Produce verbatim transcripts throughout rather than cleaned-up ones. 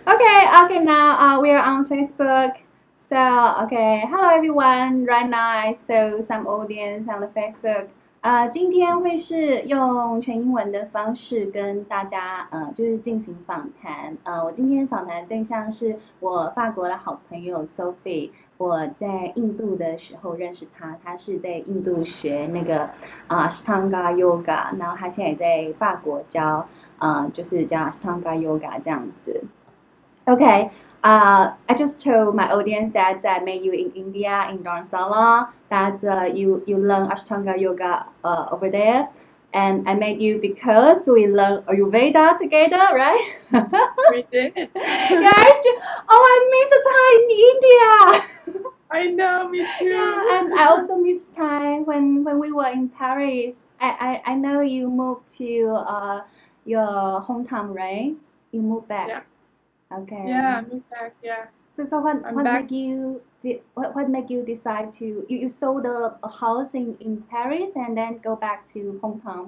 Okay, okay, now uh, we are on Facebook. So, okay, hello everyone. Right now I saw some audience on the Facebook. 呃，今天会是用全英文的方式跟大家呃，就是进行访谈。呃，我今天访谈的对象是我法国的好朋友 Sophie。我在印度的时候认识她，她是在印度学那个啊、呃 Ashtanga Yoga，然后她现在也在法国教啊、呃，就是教 Ashtanga Yoga 这样子。Okay. Uh, I just told my audience that I met you in India in Dharamsala. That uh, you you learn Ashtanga yoga uh, over there, and I met you because we learn Ayurveda together, right? We did. Yeah. I ju- oh, I miss time in India. I know, me too. Yeah, and I also miss time when when we were in Paris. I I, I know you moved to uh your hometown, right? You moved back. Yeah. Okay. Yeah, I moved back. Yeah. So, so what I'm what back. make you de- what what make you decide to you, you sold a, a house in, in Paris and then go back to hometown?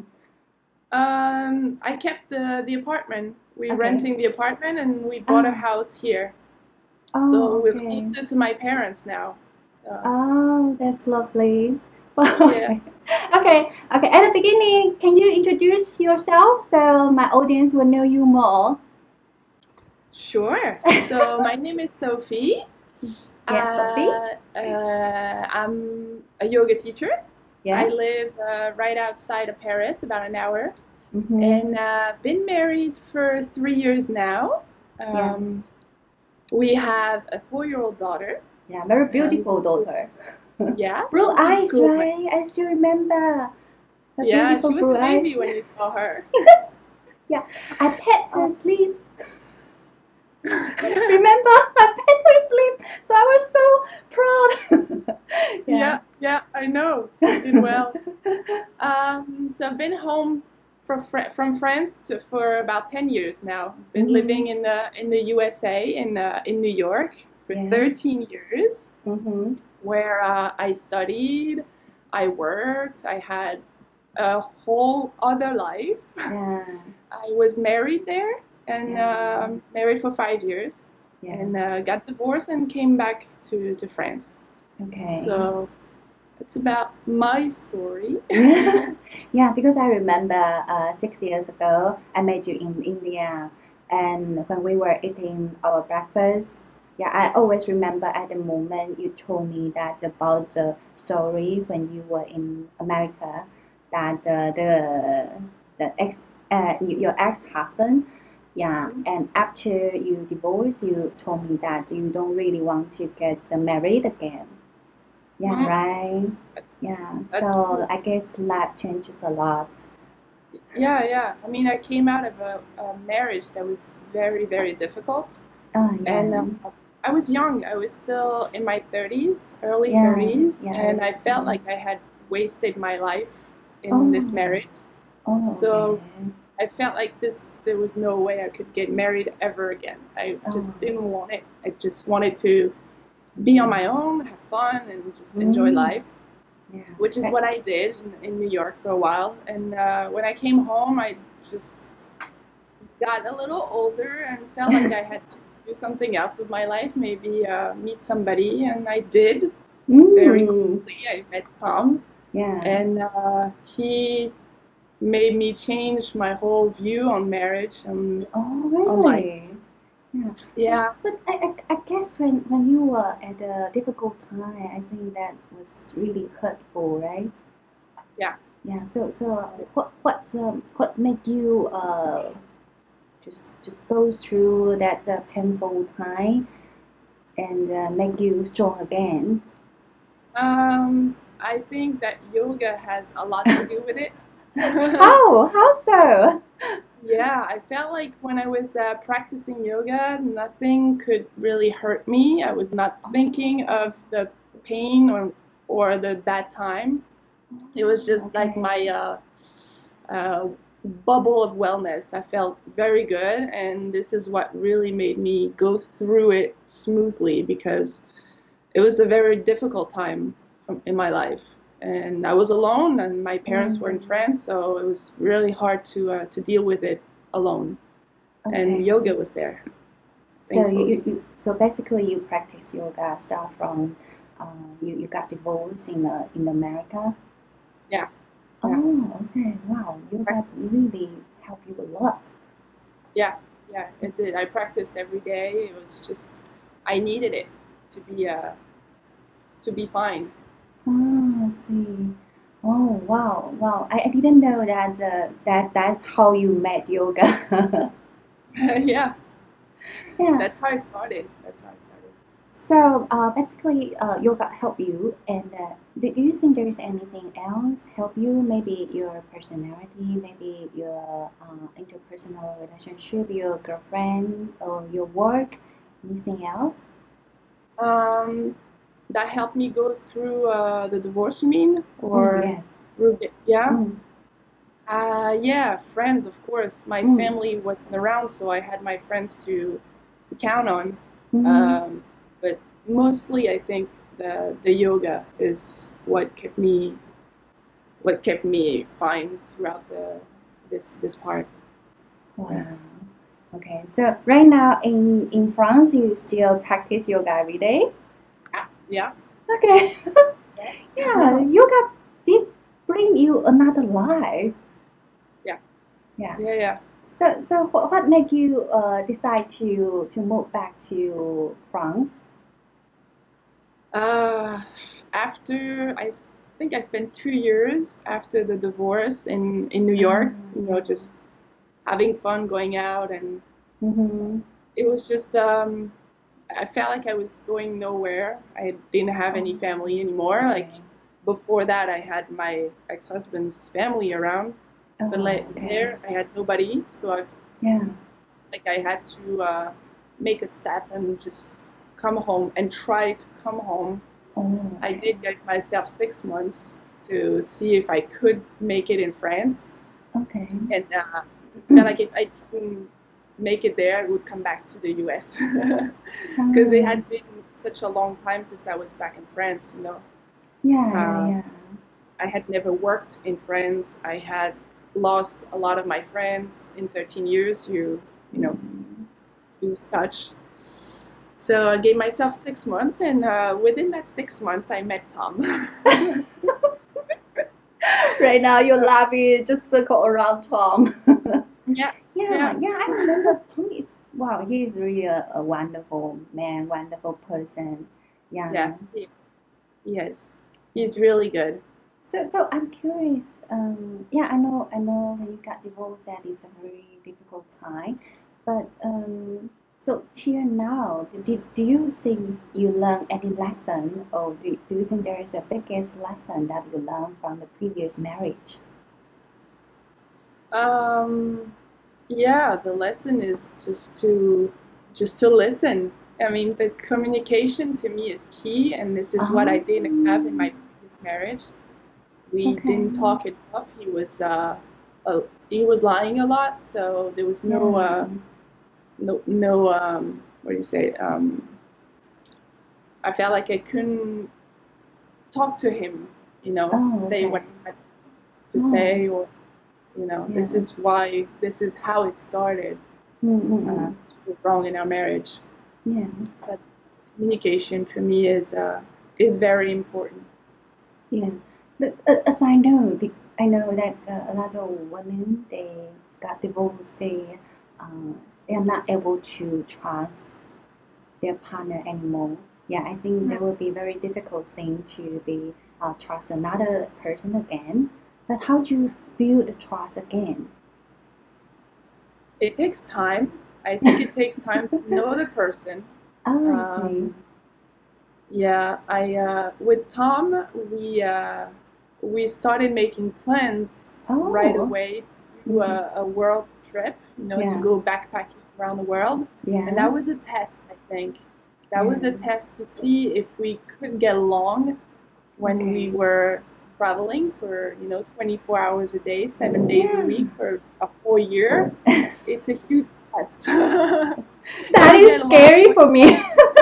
Um, I kept the the apartment. We Okay. renting the apartment and we bought a Ah. house here. Oh, So we're okay. closer to my parents now. So, Oh, that's lovely. Well, yeah. okay. Okay, okay. At the beginning, can you introduce yourself so my audience will know you more? Sure. So my name is Sophie. Yes, Sophie. Uh, uh, I'm a yoga teacher. Yeah. I live uh, right outside of Paris, about an hour. Mm-hmm. And uh, been married for three years now. Yeah. Um, we have a four-year-old daughter. Yeah, very Uh, beautiful who's in school. daughter. Yeah, Blue she's in eyes, school. right? I still remember. The Yeah, beautiful she was blue a baby eyes. when you saw her. Yes. Yeah. I pet her Oh. sleep. Remember? I pet her sleep. So I was so proud. Yeah, yeah, I know. You did well. Um, so I've been home for Fr- from France to, for about ten years now. Been Mhm. living in the in the U S A in uh, in New York for Yeah. thirteen years, Mm-hmm. where uh, I studied, I worked, I had a whole other life. Yeah. I was married there and Yeah. um married for five years, Yeah. and uh, got divorced and came back to, to France. Okay. So it's about my story. Yeah. Yeah, because I remember uh, six years ago, I met you in India, and when we were eating our breakfast, yeah, I always remember at the moment you told me that about the story when you were in America, that uh, the the ex uh, y- your ex-husband, yeah, and after you divorce, you told me that you don't really want to get uh, married again. Yeah, Mhm. right. That's, Yeah, that's so true. I guess life changes a lot. Yeah, yeah. I mean, I came out of a, a marriage that was very, very difficult. Oh, And yeah. uh, I was young. I was still in my thirties, early Yeah, thirties, yeah, and I felt understand. like I had wasted my life in this Oh, marriage. oh, So okay. I felt like this, there was no way I could get married ever again. I Oh, just didn't want it. I just wanted to be on my own, have fun, and just enjoy mm, life, yeah. which is That, what I did in, in New York for a while. And uh, when I came home, I just got a little older and felt like I had to do something else with my life, maybe uh, meet somebody, and I did very mm, quickly. I met Tom, yeah. and uh, he made me change my whole view on marriage and Oh, on life. really? Yeah. Yeah, But I, I, I guess when, when you were at a difficult time, I think that was really hurtful, right? yeah. Yeah. So so what what's um what make you uh just just go through that uh, painful time and uh, make you strong again? Um, I think that yoga has a lot to do with it. How? How so? Yeah, I felt like when I was uh, practicing yoga, nothing could really hurt me. I was not thinking of the pain or or the bad time. It was just like Okay. my uh, uh, bubble of wellness. I felt very good, and this is what really made me go through it smoothly because it was a very difficult time from, in my life. And I was alone, and my parents were in Mm, France, so it was really hard to uh, to deal with it alone. And okay. yoga was there. So you, thankfully. you, you so basically you practice yoga start from uh, you, you got divorced in the in America. Yeah, yeah. Oh, okay. Wow, yoga Practice. really helped you a lot. Yeah, yeah, it did. I practiced every day. It was just I needed it to be uh to be fine. Oh, I see. Oh, wow, wow. I, I didn't know that uh, that that's how you met yoga. Yeah, Yeah. that's how I started. That's how I started. So uh, basically, uh, yoga help you, and uh, do, do you think there's anything else help you? Maybe your personality, maybe your uh, interpersonal relationship, your girlfriend, or your work. Anything else? Um, that helped me go through uh, the divorce, you mean? Oh Or yes. through the, yeah? Mm, Uh, yeah, friends, of course. My mm, family wasn't around, so I had my friends to to count on. mm. Um, but mostly, I think the the yoga is what kept me what kept me fine throughout the this this part. Yeah. Wow. Okay. So right now in in France, you still practice yoga every day? Yeah. Yeah. Okay. Yeah, Yeah. yoga did bring you another life. Yeah. Yeah. Yeah. Yeah. So, so what, what made you uh, decide to to move back to France? Uh, after I s- think I spent two years after the divorce in in New Ah, York, you know, yeah. just having fun, going out, and Mm-hmm. it was just um, I felt like I was going nowhere. I didn't have any Oh, family anymore. okay. Like before that, I had my ex-husband's family around, but Oh, like okay. there, I had nobody. So I Yeah. like I had to uh, make a step and just come home and try to come home. Oh, I okay. did give myself six months to see if I could make it in France, Okay. and uh, I felt like if I didn't make it there, I would come back to the U S because it Oh, had been such a long time since I was back in France. You know, yeah, yeah, uh, yeah. I had never worked in France. I had lost a lot of my friends in thirteen years. You you know Mm. lose touch. So I gave myself six months, and uh, within that six months, I met Tom. Right now, you're laughing, just circle around Tom. Yeah, Yeah, yeah, yeah, I remember Tom is, wow, he is really a, a wonderful man, wonderful person. yeah. Yeah. He, he is. Yeah. He's really good. So, so I'm curious. Um, yeah, I know, I know when you got divorced, that is a very difficult time. But um, so till now, do, do you think you learned any lesson, or do, do you think there is a biggest lesson that you learned from the previous marriage? Um, yeah, the lesson is just to just to listen. I mean, the communication to me is key, and this is what I Oh, didn't have in my previous marriage. We okay. didn't talk enough. He was uh, uh he was lying a lot, so there was no Yeah. uh no no um what do you say um I felt like I couldn't talk to him, you know, Oh, say okay. what I had to Oh, say, or you know, yeah. this is why this is how it started uh, Mm-mm. to go wrong in our marriage. Yeah. But communication for me is uh, is very important. Yeah, but uh, as I know, be- I know that uh, a lot of women they got divorced. They uh, they are not able to trust their partner anymore. Yeah, I think that would be a very difficult thing to be uh, trust another person again. But how do you build the trust again? It takes time. I think it takes time to know the person. Oh, I see. Um, yeah, I uh, with Tom we uh, we started making plans right Oh, away to do mm-hmm. a, a world trip, you know, to Yeah, go backpacking around the world, and yeah, that was a test. I think that was a yeah. test to see if we could get along when we Okay. were traveling for you know twenty-four hours a day, seven days a Yeah. week for a whole year. It's a huge test. If That we is get along, scary great. for me.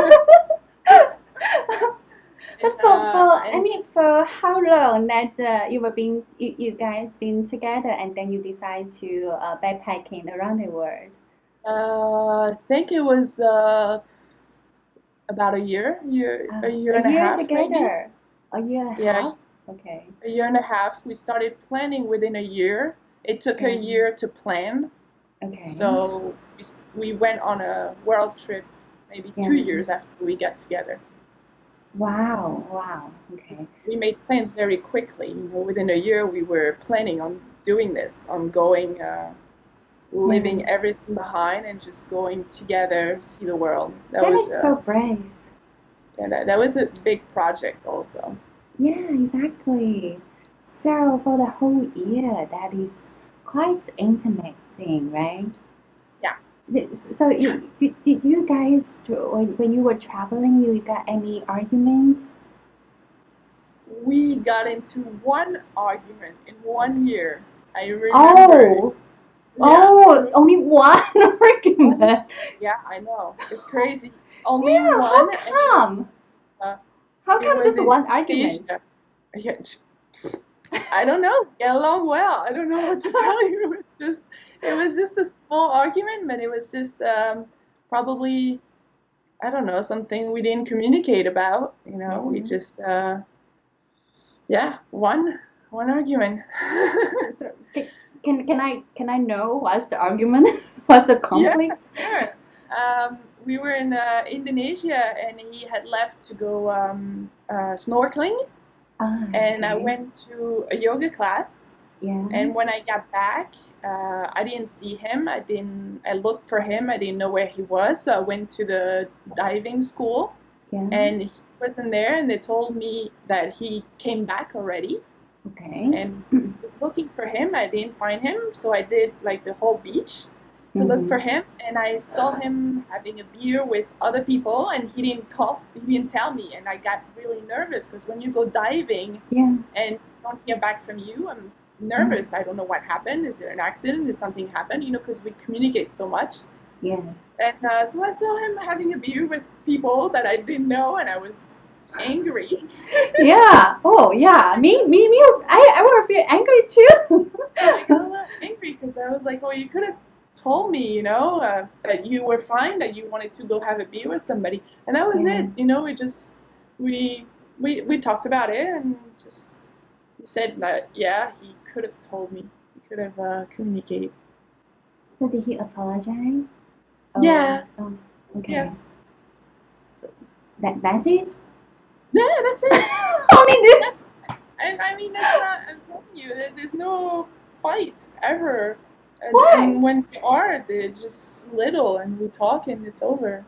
And But for, uh, for I and mean, for how long that uh, you were being you, you guys been together and then you decide to uh, backpacking around the world? Uh, I think it was uh, about a year, year, a Uh, year a and a year half, maybe. together. A year and a Yeah, half? Okay. a year and a half. We started planning within a year. It took a Yeah. year to plan, Okay. so we, s- we went on a world trip maybe two Yeah. years after we got together. Wow. Wow. Okay. We made plans very quickly. You know, within a year, we were planning on doing this, on going, uh, Yeah. leaving everything behind, and just going together, see the world. That That was is so uh, brave. yeah, that, that was a big project also. Yeah, exactly. So for the whole year, that is quite intimate thing, right? Yeah, Th- So you, did, did you guys, when, when you were traveling, you got any arguments? we got into one argument in one year. I remember. Oh, Yeah, it oh, only was one only. argument. Yeah, I know. It's crazy. Only Yeah, how one, and it come? was. Uh, How it come was just in one argument? Asia. Yeah, I don't know. Get along well. I don't know what to tell you. It was just, it was just a small argument, but it was just um, probably, I don't know, something we didn't communicate about. You know, we Yeah. just, uh, yeah, one, one argument. So, so can, can can I can I know what's the argument? What's the Yeah, conflict? sure. Um, we were in uh, Indonesia, and he had left to go um, uh, snorkeling, Ah, and I okay. went to a yoga class. Yeah. And when I got back, uh, I didn't see him. I didn't. I looked for him. I didn't know where he was. So I went to the diving school, Yeah. and he wasn't there. And they told me that he came back already. Okay. And I was looking for him. I didn't find him. So I did like the whole beach to look for Mm-hmm. him. And I saw him having a beer with other people, and he didn't talk. He didn't tell me. And I got really nervous because when you go diving Yeah. and don't hear back from you, I'm Yeah. nervous. I don't know what happened. Is there an accident? Did something happen? You know, because we communicate so much. Yeah. And uh, so I saw him having a beer with people that I didn't know, and I was angry. Yeah. Oh, yeah. Me, me, me. I, I would feel angry I got a too. little angry because I was like, "Oh, you could have told me, you know, uh, that you were fine, that you wanted to go have a beer with somebody," and that was Yeah. it. You know, we just we we we talked about it, and just he said that yeah, he could have told me. He could have uh, communicated. So did he apologize? Oh, Yeah, oh, yeah, okay. So that that's it? yeah. That's it. Only this? That, and I mean, that's not. I'm telling you, there- there's no fights ever. And, Why? and when we are, they're just little, and we talk, and it's over.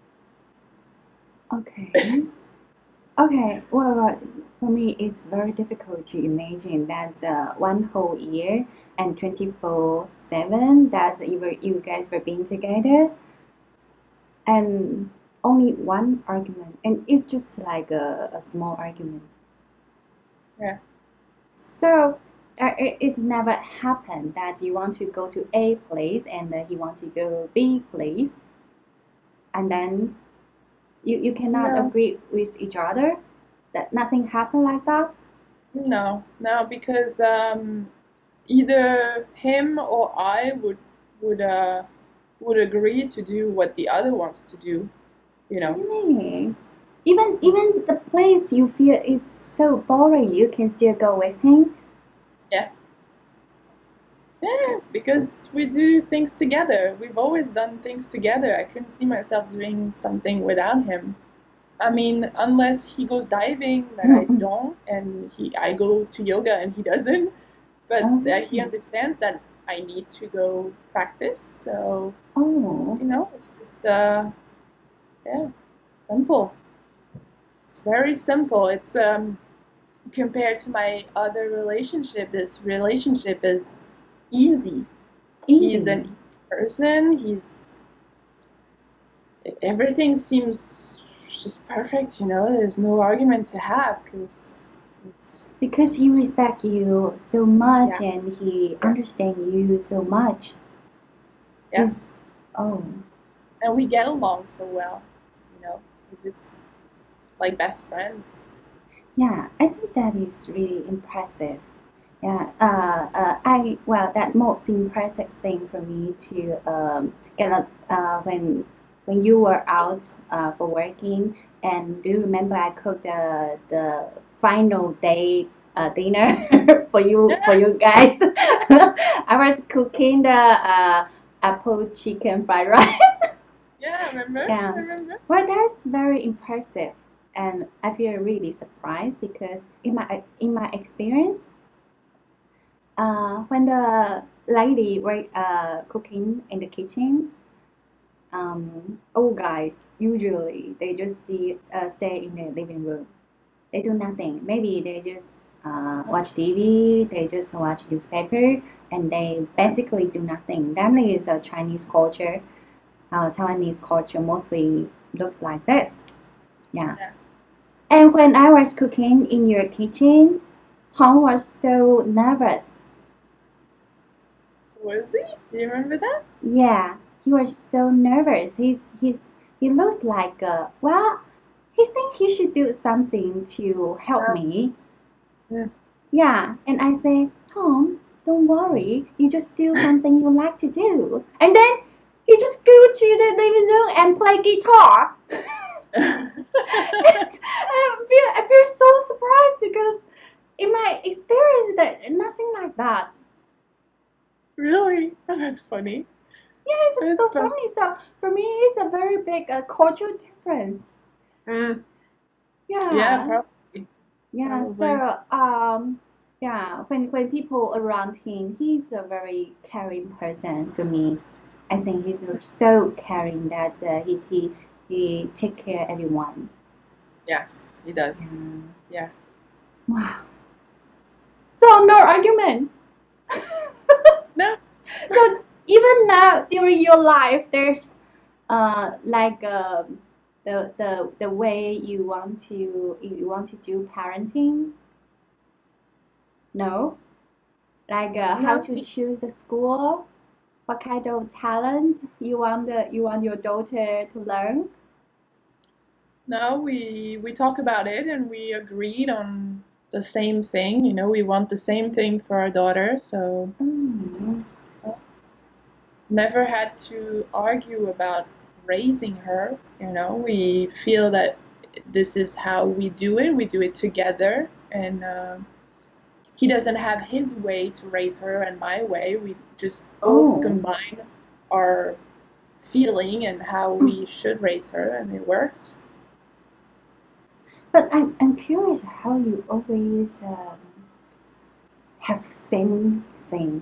Okay. Okay. Well, well, for me, it's very difficult to imagine that uh, one whole year and twenty-four seven that you were you guys were being together and only one argument, and it's just like a, a small argument. Yeah. So uh, it, it's never happened that you want to go to A place and uh, he want to go B place, and then you, you cannot No, agree with each other. That nothing happened like that. no, no, because um, either him or I would would uh would agree to do what the other wants to do. You know. Really? Even even the place you feel is so boring, you can still go with him. Yeah. Yeah, because we do things together. We've always done things together. I couldn't see myself doing something without him. I mean, unless he goes diving, that I don't, and he I go to yoga and he doesn't. But uh, he Okay. understands that I need to go practice. So Oh, you know, it's just uh, yeah, simple. It's very simple. It's um compared to my other relationship. This relationship is easy. He's easy. an easy person. He's everything seems just perfect. You know, there's no argument to have because it's Because he respect you so much yeah, and he yeah, understand you so much. yeah. Is oh And we get along so well. You know, we just like best friends. yeah, I think that is really impressive. Yeah, uh, uh, I well, that most impressive thing for me to um, get a, uh, when when you were out uh, for working, and do you remember I cooked the the final day uh, dinner for you for Yeah, you guys? I was cooking the uh, apple chicken fried rice. yeah, I remember. Yeah, I remember. well, that's very impressive, and I feel really surprised because in my in my experience uh, when the lady were uh, cooking in the kitchen, um, old guys usually they just see, uh, stay in the living room. They do nothing. Maybe they just uh, watch T V. They just watch newspaper, and they basically do nothing. That is a Chinese culture. Uh, Taiwanese culture mostly looks like this. Yeah. Yeah. And when I was cooking in your kitchen, Tom was so nervous. Was he? Do you remember that? Yeah, he was so nervous. He's he's he looks like uh well, he think he should do something to help Yeah. me. Yeah. Yeah, and I say, Tom, don't worry, you just do something you like to do. And then he just go to the living room and play guitar. And I feel I feel so surprised because in my experience that nothing like that. Really? That's funny. Yeah, it's just That's so fun. funny. So for me, it's a very big uh, cultural difference. Mm. Yeah, Yeah, probably. yeah. Probably. So um, yeah, when when people around him, he's a very caring person for me. I think he's so caring that uh, he he he take care of everyone. Yes, he does. Yeah. Yeah. Wow. So no argument. No. So even now during your life, there's uh like um the the the way you want to you want to do parenting. No, like uh, how No. to we- choose the school, what kind of talent you want the you want your daughter to learn. No, we we talk about it and we agreed on the same thing. You know, we want the same thing for our daughter, so Mm. never had to argue about raising her. You know, we feel that this is how we do it. We do it together, and uh, he doesn't have his way to raise her and my way. We just both Oh, combine our feeling and how we should raise her, and it works. but I'm I'm curious how you always um, have same thing.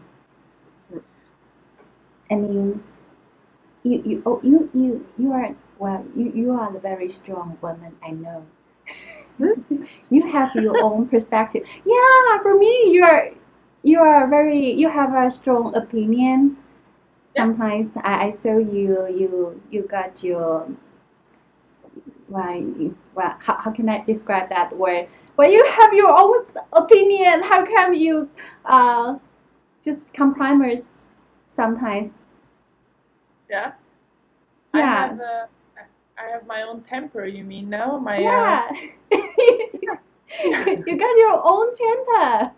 I mean, you you oh, you you you are well you you are a very strong woman. I know. Hmm? You have your own perspective. Yeah, for me, you're you are very you have a strong opinion. Yeah. Sometimes I, I saw you you you got your well, you, well how, how can I describe that word? Well, you have your own opinion. How come you uh just compromise sometimes? Yeah. I Yeah, have uh, I have my own temper. You mean no? My uh, yeah. yeah, you, you got your own temper.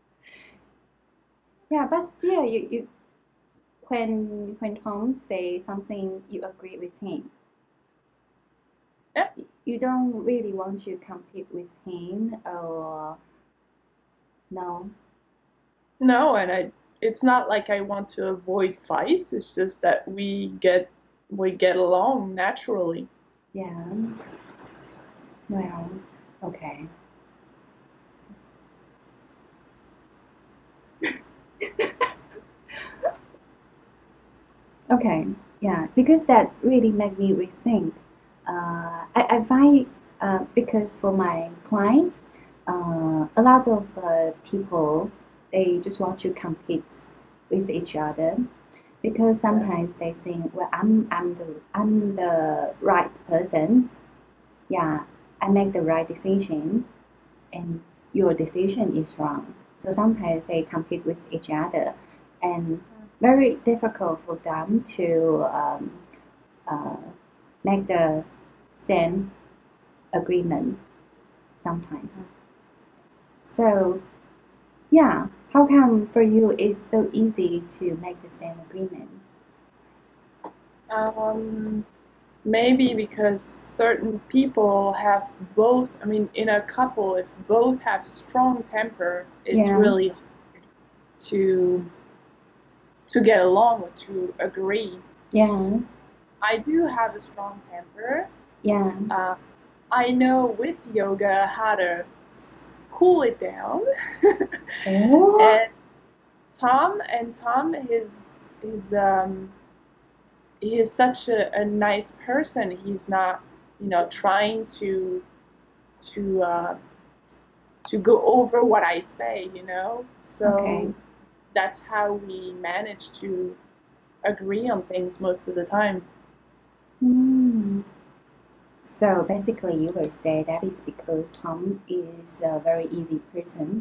Yeah, but still, you, you when when Tom say something you agree with him, yeah. you don't really want to compete with him or no. No, and I. It's not like I want to avoid fights. It's just that we get we get along naturally. Yeah, well, okay. Okay, yeah, because that really made me rethink. Uh, I, I find uh, because for my client, uh, a lot of uh, people they just want to compete with each other because Yeah. sometimes they think, well, I'm I'm the I'm the right person. Yeah, I make the right decision, and your decision is wrong. So sometimes they compete with each other, and very difficult for them to um, uh, make the same agreement sometimes. So Yeah. How come for you it's so easy to make the same agreement? Um, maybe because certain people have both, I mean, in a couple, if both have strong temper, it's Yeah. really hard to to get along or to agree. Yeah. I do have a strong temper. Yeah. Uh, I know with yoga how to s- cool it down. Oh. and Tom and Tom is is um he is such a, a nice person. He's not, you know, trying to to uh, to go over what I say, you know. Okay. So that's how we manage to agree on things most of the time. Hmm. So basically, you will say that is because Tom is a very easy person,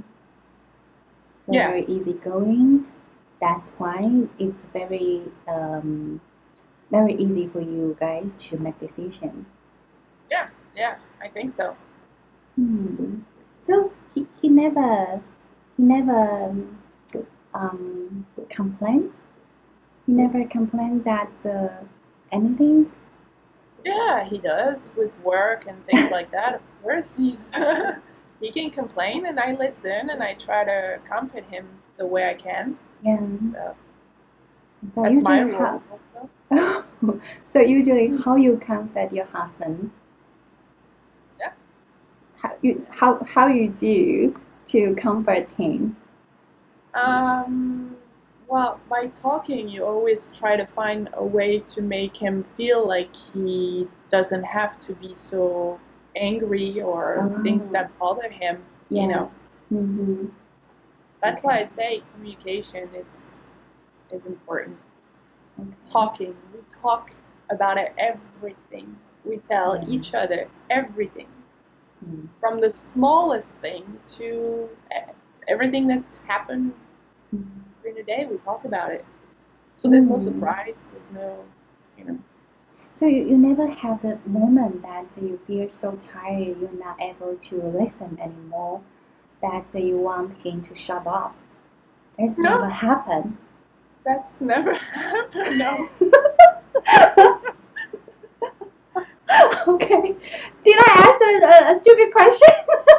so Yeah, very easygoing. That's why it's very um, very easy for you guys to make decision. yeah, yeah. I think so. Hmm. So he, he never he never um complained. He never complained that uh, anything. Yeah, he does with work and things like that. Of course, he's he can complain, and I listen, and I try to comfort him the way I can. Yeah. So So that's my usually how role also. so usually how you comfort your husband? Yeah. How you how how you do to comfort him? Um, well, by talking, you always try to find a way to make him feel like he doesn't have to be so angry or things Oh, that bother him, you yeah. know. Mm-hmm. That's why I Okay. say communication is is important. Okay. Talking, we talk about it, everything. We tell Yeah. each other everything, Mm. from the smallest thing to e- everything that's happened Mm. during the day. We talk about it. So there's no Mm. surprise. There's no, you know. So you, you never have the moment that you feel so tired you're not able to listen anymore, that you want him to shut up. It's never No, happened. that's never happened. No. Okay. Did I answer a, a stupid question?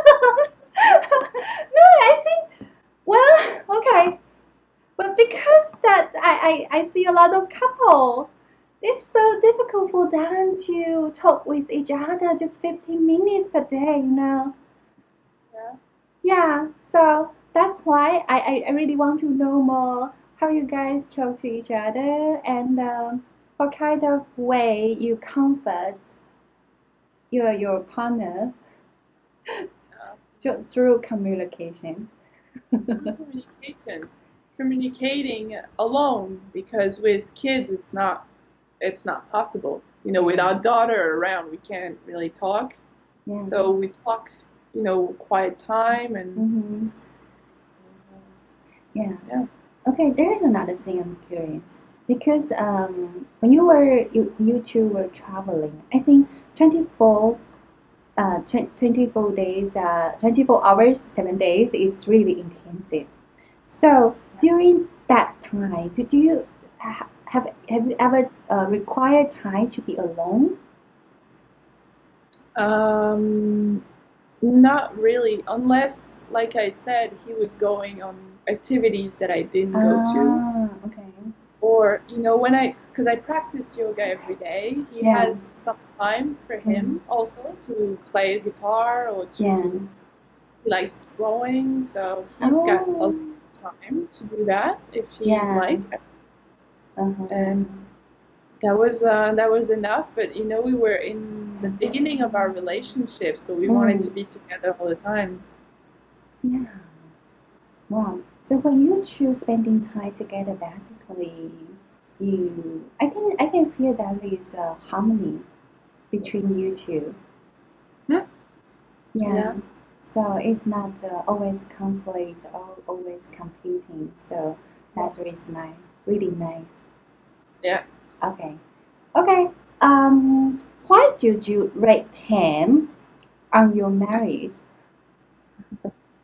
No, I think, well, okay. But because that I, I, I see a lot of couple, it's so difficult for them to talk with each other just fifteen minutes per day, you know. Yeah. Yeah, so that's why I, I, I really want to know more how you guys talk to each other and um, what kind of way you comfort your your partner Uh, just through communication. through communication, communicating alone, because with kids it's not it's not possible. You know, with Yeah, our daughter around, we can't really talk. yeah. So we talk, you know, quiet time and. Mm-hmm. Yeah. Yeah. Okay, there's another thing I'm curious because um, when you were you, you two were traveling, I think twenty-four uh tw- twenty-four days uh twenty-four hours seven days is really intensive. So during that time, did you ha- have have you ever uh, required time to be alone? Um, Not really, unless, like I said, he was going on activities that I didn't go to. Ah, okay. Or, you know, when I, because I practice yoga every day, he Yeah. has some time for Mm. him also to play guitar or Yeah. to, he likes drawing, so he's got a lot Oh. of time to do that if he'd Yeah. like. Uh-huh. And that was uh, that was enough. But you know, we were in the beginning of our relationship, so we wanted to Mm. be together all the time. Yeah. Wow. So when you two spending time together, basically, you, I can, I can feel that there is a harmony between you two. Hmm? Yeah. Yeah, So it's not uh, always conflict or always competing. So no, that's really nice. Really nice. yeah. Okay. Okay. Um, why did you rate ten on your marriage? I think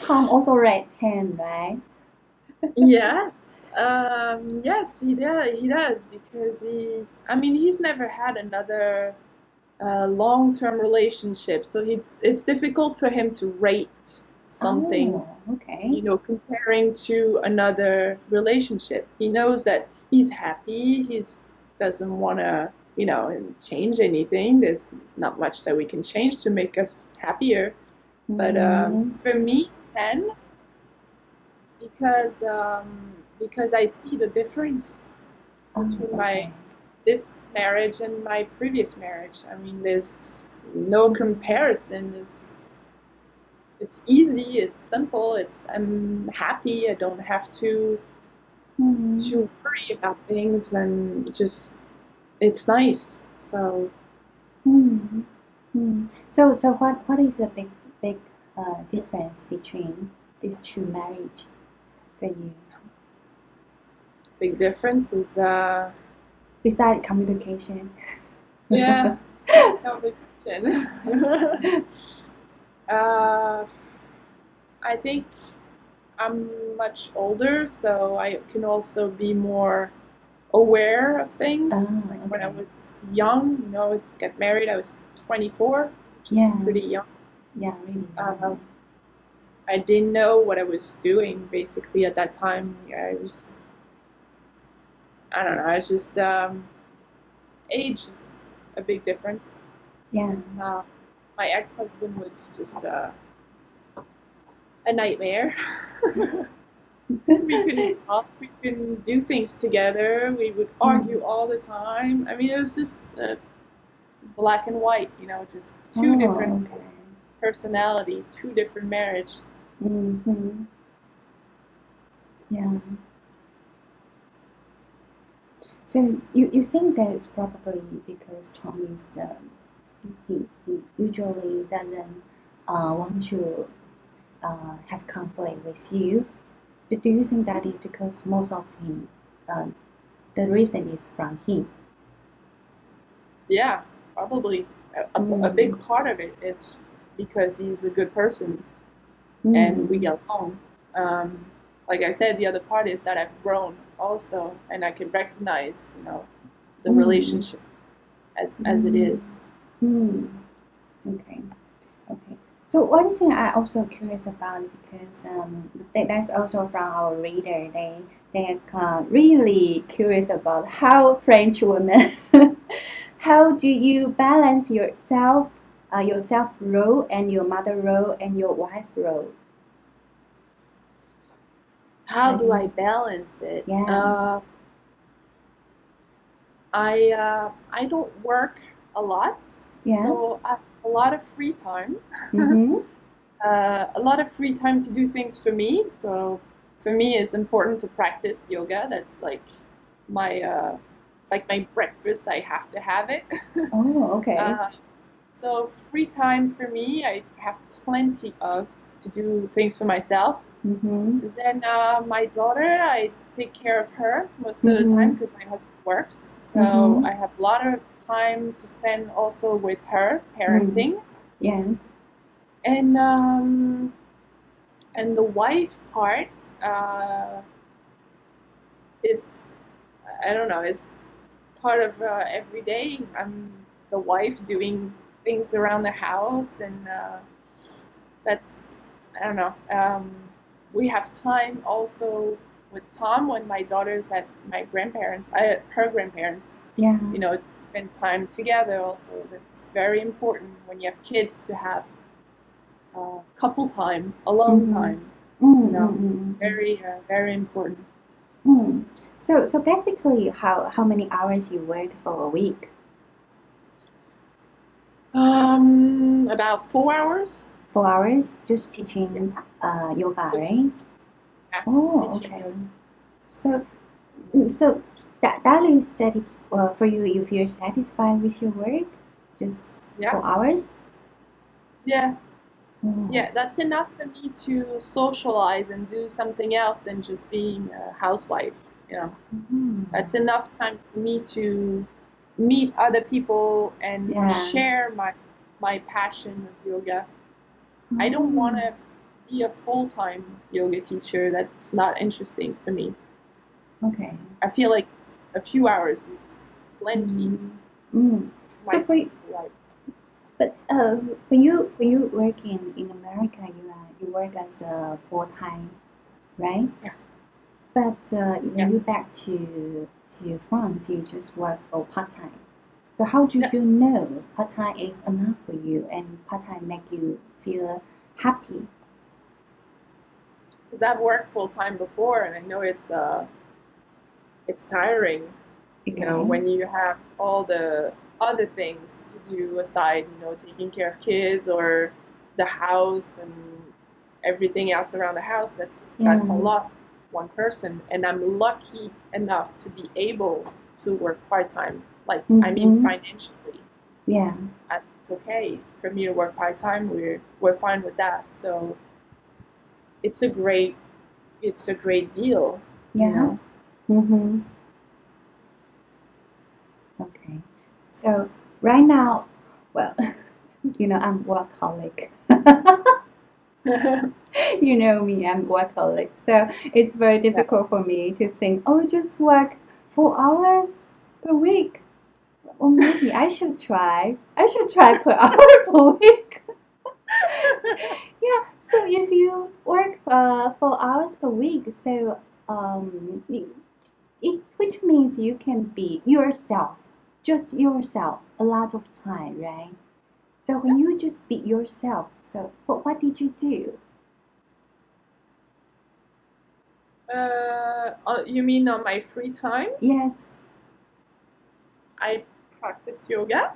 Tom also raised hand, right? Yes, um, yes, he does. He does because he's. I mean, he's never had another uh, long-term relationship, so it's it's difficult for him to rate something, Oh, okay. you know, comparing to another relationship. He knows that he's happy. He's doesn't want to, you know, change anything. There's not much that we can change to make us happier. But um, Mm-hmm. for me, ten, because um, because I see the difference Oh, between my okay. this marriage and my previous marriage. I mean, there's no comparison. It's it's easy. It's simple. It's I'm happy. I don't have to Mm-hmm. to worry about things, and just it's nice. So Mm-hmm. Mm. So, so what, what is the big, big uh, difference between these two marriage for you? big difference is uh Besides communication. yeah, besides complication. uh, I think I'm much older, so I can also be more aware of things. Oh, Like when I okay. was young, you know, I was get married, I was twenty-four, which is Yeah, pretty young. yeah, really Uh, young. I didn't know what I was doing basically at that time. I was, I don't know, I was just, um, age is a big difference. Yeah. Uh, my ex-husband was just uh, a nightmare. We couldn't talk, we couldn't do things together, we would Mm. argue all the time. I mean, it was just uh, black and white, you know, just two different Oh, okay. personality, two different marriage. Mm-hmm. Yeah. So you, you think that it's probably because Tom is the he, he usually doesn't uh, want to uh, have conflict with you. But do you think that is because most of him, uh, the reason is from him? Yeah, probably a, a, a Mm. big part of it is because he's a good person and we Mm. get along. Um, like I said, the other part is that I've grown also, and I can recognize, you know, the Mm. relationship as as it Mm. is. Mm. Okay. Okay. So one thing I also curious about because um, that, that's also from our reader. They they are really curious about how French women. How do you balance yourself, uh, your self role and your mother role and your wife role? How How do do I you? balance it? Yeah. Uh, I uh, I don't work a lot, Yeah. so I have a lot of free time. Mhm. Uh, a lot of free time to do things for me. So for me, it's important to practice yoga. That's like my uh, it's like my breakfast. I have to have it. Oh, okay. uh, so free time for me, I have plenty of to do things for myself. Mhm. Then uh, my daughter, I take care of her most of the time Mhm. because my husband works. So Mhm. I have a lot of time to spend also with her, Mm. parenting. Yeah. And um, and the wife part uh, is, I don't know, it's part of uh, every day. I'm the wife doing things around the house, and uh, that's, I don't know. Um, we have time also with Tom when my daughter's at my grandparents, I at her grandparents, Yeah. you know, to spend time together also. That's very important when you have kids to have uh, couple time, alone Mhm. time, Mm, you mm, know, mm, mm, very, uh, very important. mm. So, so basically, how how many hours you work for a week? Um, about four hours. Four hours, just Yeah, teaching uh yoga, just right? yeah, Oh, teaching okay. yoga. So, mm, so that that is satis uh, for you. You feel satisfied with your work, just Yeah, four hours? yeah, Oh. yeah. That's enough for me to socialize and do something else than just being a housewife. You know, Mhm. that's enough time for me to meet other people and Yeah. share my my passion of yoga. I don't want Oh. to be a full-time yoga teacher. That's not interesting for me. Okay. I feel like a few hours is plenty. Mm. Mm. My So for you, life. but uh, when you when you work in in America, you are you work as a full time, right? Yeah. But uh, when Yeah. you back to to France, you just work for part time. So how do Yeah. you know part time is enough for you and part time make you feel happy? Because I've worked full-time before, and I know it's uh it's tiring. You know, Okay. when you have all the other things to do aside, you know, taking care of kids or the house and everything else around the house, that's Yeah. that's a lot, one person. And I'm lucky enough to be able to work part-time. Like, I mean, Mm-hmm. financially, Yeah. it's okay for me to work part-time. We're we're fine with that. So it's a great it's a great deal, you Yeah. know. Mm-hmm. Okay. So right now, well, you know, I'm workaholic. You know me, I'm workaholic. So it's very Yeah. difficult for me to think, oh, just work four hours per week. Or maybe I should try. I should try per hour per week. Yeah, so if you work uh, four hours per week, so um, it, it which means you can be yourself, just yourself, a lot of time, right? So when you just be yourself, so what what did you do? Uh, uh, you mean on my free time? Yes. I practice yoga.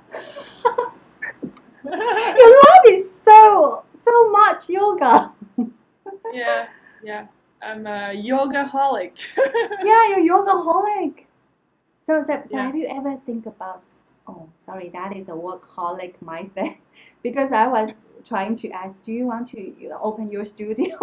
Your life is so so much yoga. Yeah, yeah. I'm a yoga-holic. Yeah, you're yoga-holic. So, so, so Yeah. have you ever think about, oh, sorry, that is a workaholic mindset. Because I was trying to ask, do you want to you know, open your studio?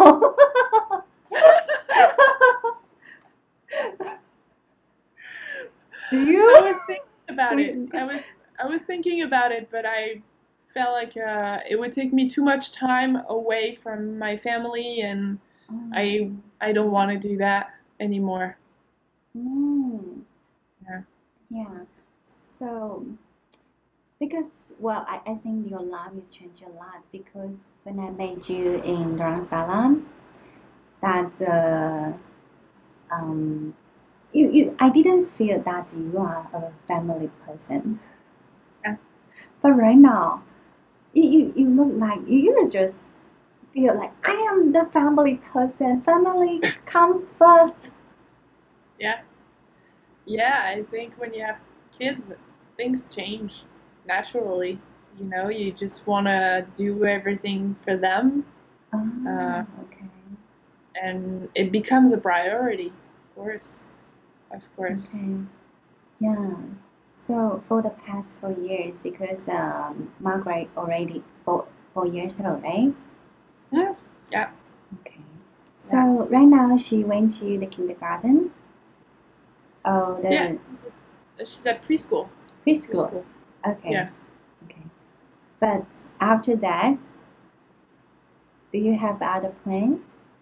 Do I you? was thinking Do about it. you? I was I was thinking about it, but I felt like uh, it would take me too much time away from my family, and I Oh. I don't want to do that anymore. Mm, Yeah. yeah. So, because, well, I, I think your life has changed a lot because when I met you in Dharamsala, that uh, um, you, you I didn't feel that you are a family person. Yeah. But right now, you, you, you look like you just feel like I am the family person. Family comes first. Yeah. Yeah, I think when you have kids, things change naturally. You know, you just want to do everything for them, uh, Oh, okay. and it becomes a priority, of course, of course. Okay. Yeah. So for the past four years, because um, Margaret already four four years old, right? Yeah, yeah, Okay. yeah, So right now she went to the kindergarten. Oh, yeah. the She's at, she's at preschool. preschool. Preschool. Okay. Yeah. Okay. But after that, do you have other plan?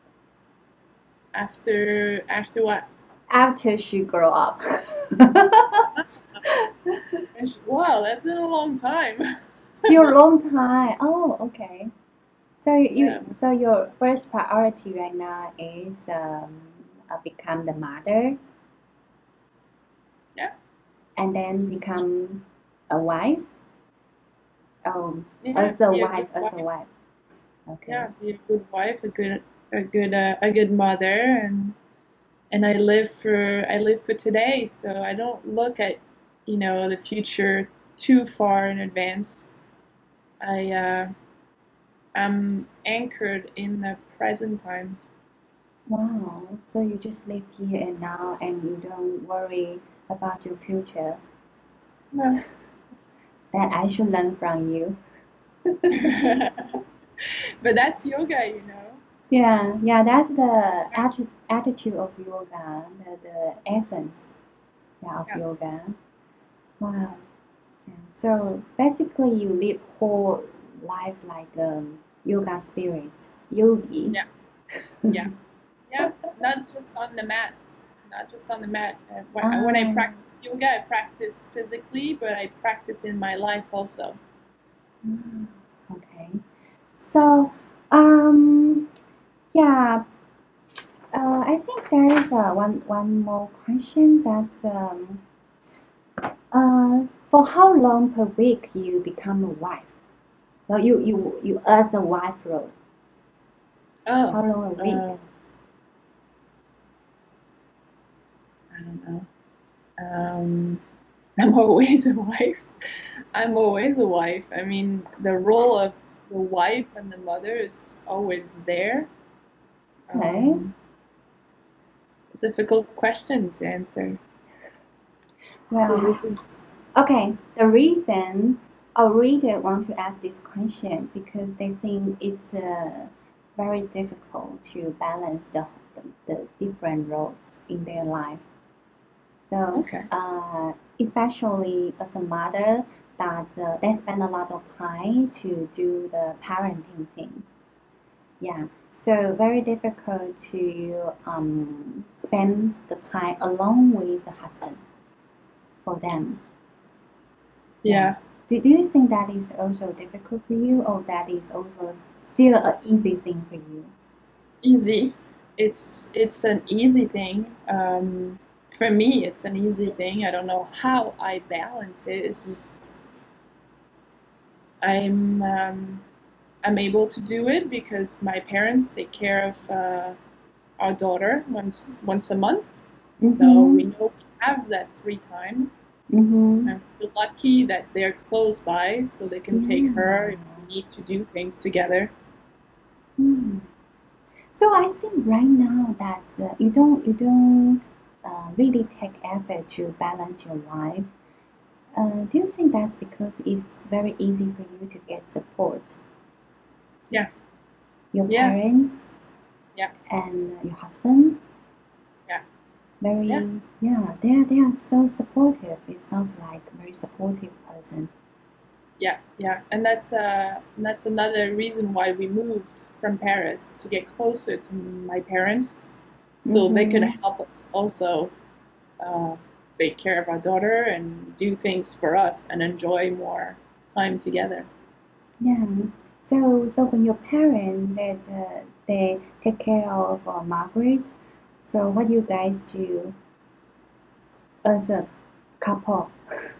After after what? After she grow up. And she, wow, that's in a long time. Still a long time. Oh, okay. So Yeah, you so your first priority right now is um, uh, become the mother yeah, and then become a wife. Oh, yeah. as a Be a wife, good as a wife. wife. Okay. Yeah, be a good wife, a good a good uh, a good mother, and and I live for I live for today, so I don't look at, you know, the future too far in advance. I uh, I'm anchored in the present time. Wow. So you just live here and now and you don't worry about your future. No. That I should learn from you. But that's yoga, you know. Yeah, yeah, that's the atti attitude of yoga, the, the essence, yeah, of Yeah, yoga. Wow. Yeah. So basically, you live whole life like um, yoga spirit. yogi. Yeah, yeah, yeah. Not just on the mat, not just on the mat. Uh, when, I- when I Ah, practice yoga, I practice physically, but I practice in my life also. mm, okay. So, um, yeah, uh, I think there is uh, one one more question that um, uh, for how long per week you become a wife? So you you you as a wife role, Oh, how long a week? uh, I don't know. Um, I'm always a wife. I'm always a wife. I mean, the role of the wife and the mother is always there. Okay. Um, difficult question to answer because Well, this is okay. The reason our reader want to ask this question because they think it's uh, very difficult to balance the, the, the different roles in their life. So, okay. uh, especially as a mother, that uh, they spend a lot of time to do the parenting thing. Yeah, so very difficult to um, spend the time alone with the husband for them. Yeah. Yeah, Do, do you think that is also difficult for you, or that is also still an easy thing for you? easy. It's it's an easy thing. Um, for me, it's an easy thing. I don't know how I balance it. It's just I'm um, I'm able to do it because my parents take care of uh, our daughter once once a month, so we Mm-hmm. know we have that free time. Mm-hmm. I'm feel lucky that they're close by, so they can take her if Yeah. we need to do things together. Hmm. So I think right now that uh, you don't you don't uh, really take effort to balance your life. Uh, do you think that's because it's very easy for you to get support? Yeah, Your yeah, parents yeah, and uh, your husband, yeah, yeah, very yeah, they are they are so supportive. It sounds like a very supportive person. yeah, yeah. And that's uh, that's another reason why we moved from Paris to get closer to my parents, so they could Mm-hmm. help us also uh, take care of our daughter and do things for us and enjoy more time together. Yeah. So so when your parents that uh, they take care of uh, Margaret, so what do you guys do as a couple?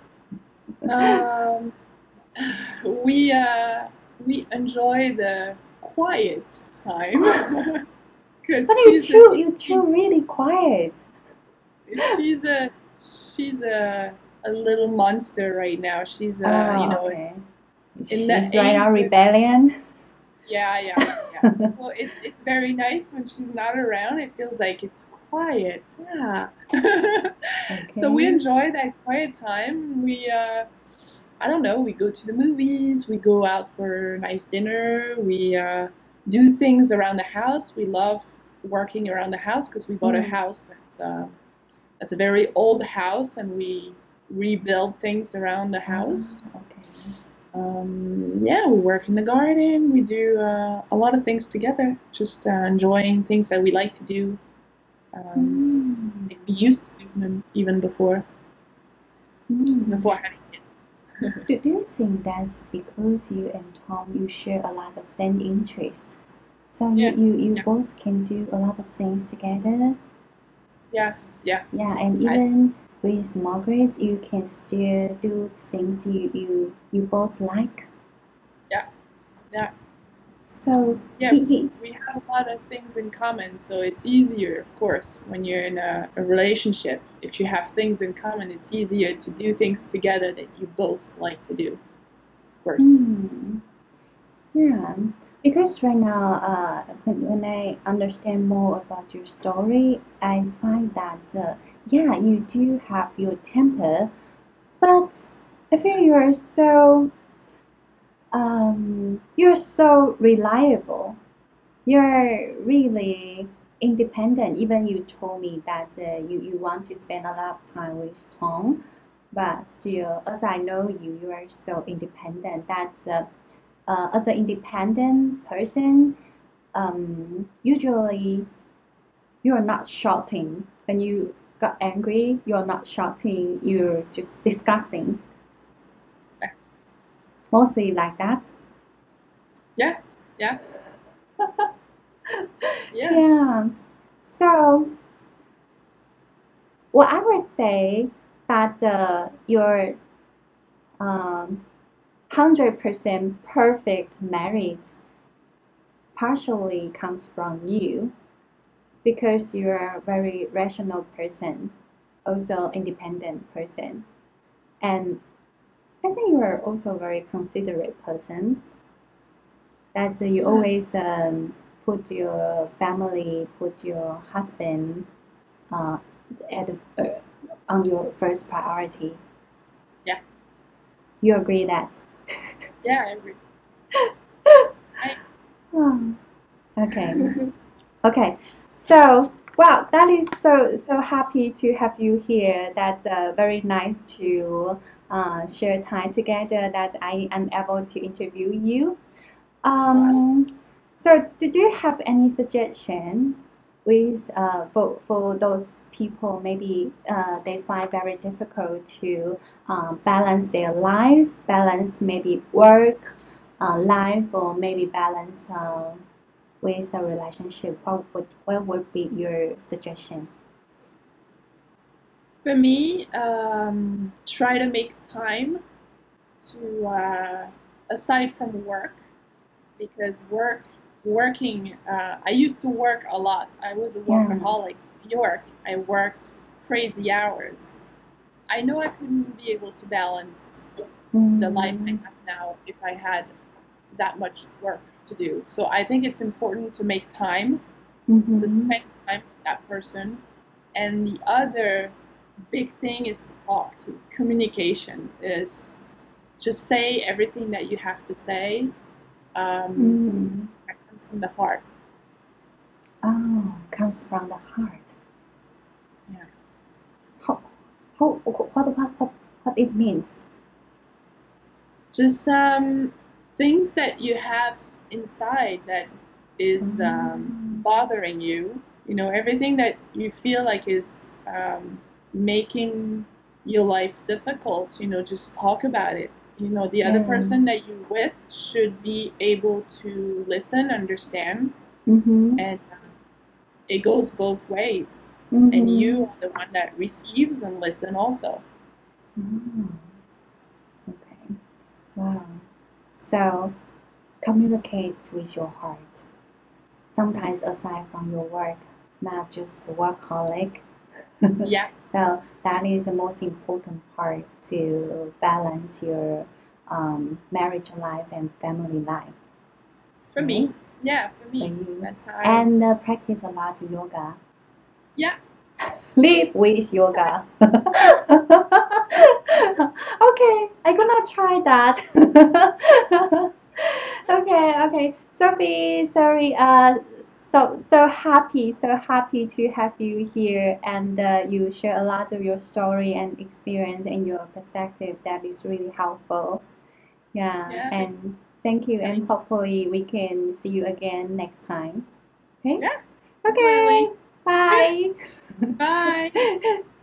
Um, we uh, we enjoy the quiet time But because you she's a two you two she, really quiet. she's a she's a a little monster right now. She's uh you Oh, know okay. in that She's right age now where she's rebellion. yeah yeah yeah. So it's it's very nice when she's not around. It feels like it's quiet. Yeah. So we Okay. enjoy that quiet time. We uh I don't know, we go to the movies, we go out for a nice dinner, we uh, do things around the house. We love working around the house because we bought a Mm. house that's, uh, that's a very old house and we rebuild things around the house. Ah, okay. Um, yeah, we work in the garden, we do uh, a lot of things together, just uh, enjoying things that we like to do, um, Mm. like we used to do them even before, Mm. before having kids. Do, do you think that's because you and Tom you share a lot of same interests? So you, Yeah, you, you yeah, both can do a lot of things together? yeah, yeah. Yeah, and I, even with Margaret you can still do things you, you, you both like. yeah, yeah. So Yeah, he, he we have a lot of things in common, so it's easier, of course, when you're in a, a relationship. If you have things in common, it's easier to do things together that you both like to do, of course. hmm. Yeah, because right now, uh, when, when I understand more about your story, I find that, uh, yeah, you do have your temper, but I feel you are so, um, you're so reliable. You're really independent. Even you told me that uh, you, you want to spend a lot of time with Tom, but still, as I know you, you are so independent. That's uh, uh, as an independent person, um, usually you're not shouting. When you got angry, you're not shouting, you're just discussing. Mostly like that. Yeah, yeah, yeah. Yeah. So, well, I would say that uh, your um, one hundred percent perfect marriage partially comes from you because you're a very rational person, also independent person. And I think you're also a very considerate person. That uh, you Yeah. always um, put your family, put your husband uh, at the, uh, on your first priority. Yeah, You agree that? yeah, I agree. I, Oh, okay. Okay. So, well, that is so so happy to have you here. That's uh, very nice to uh, share time together. That I am able to interview you. well, Um, so, did you have any suggestion with uh, for for those people maybe uh, they find very difficult to um, balance their life, balance maybe work, uh, life, or maybe balance uh, with a relationship? What would what would be your suggestion? for me, um, try to make time to, uh, aside from work, because work, working, uh, I used to work a lot. I was a Yeah. workaholic in New York. I worked crazy hours. I know I couldn't be able to balance the life I Mm, have now if I had that much work to do. So I think it's important to make time to mm-hmm. spend time with that person. And the other big thing is to talk, to communication is just say everything that you have to say. Um, Mm. that comes from the heart. Oh, comes from the heart. Yeah. How, how, what, what, what, what it means? Just um, things that you have inside that is um, Mm, bothering you. You know, everything that you feel like is um, making your life difficult. You know, just talk about it. You know, the other yeah. person that you're with should be able to listen, understand, Mm-hmm. and it goes both ways. And Mm-hmm. you are the one that receives and listen also. Mm, okay. Wow. So communicate with your heart. Sometimes aside from your work, not just workaholic. Yeah, So that is the most important part to balance your um, marriage life and family life, for me. right? Yeah, for For me. you. That's how I. And uh, practice a lot of yoga. Yeah, Live with yoga. Okay, I'm gonna try that. Okay, okay. Sophie, sorry. Uh, so so happy, so happy to have you here, and uh, you share a lot of your story and experience and your perspective. That is really helpful. Yeah, yeah, and thank you, and having. hopefully we can see you again next time. Okay. Yeah, Okay. definitely. Bye. Bye.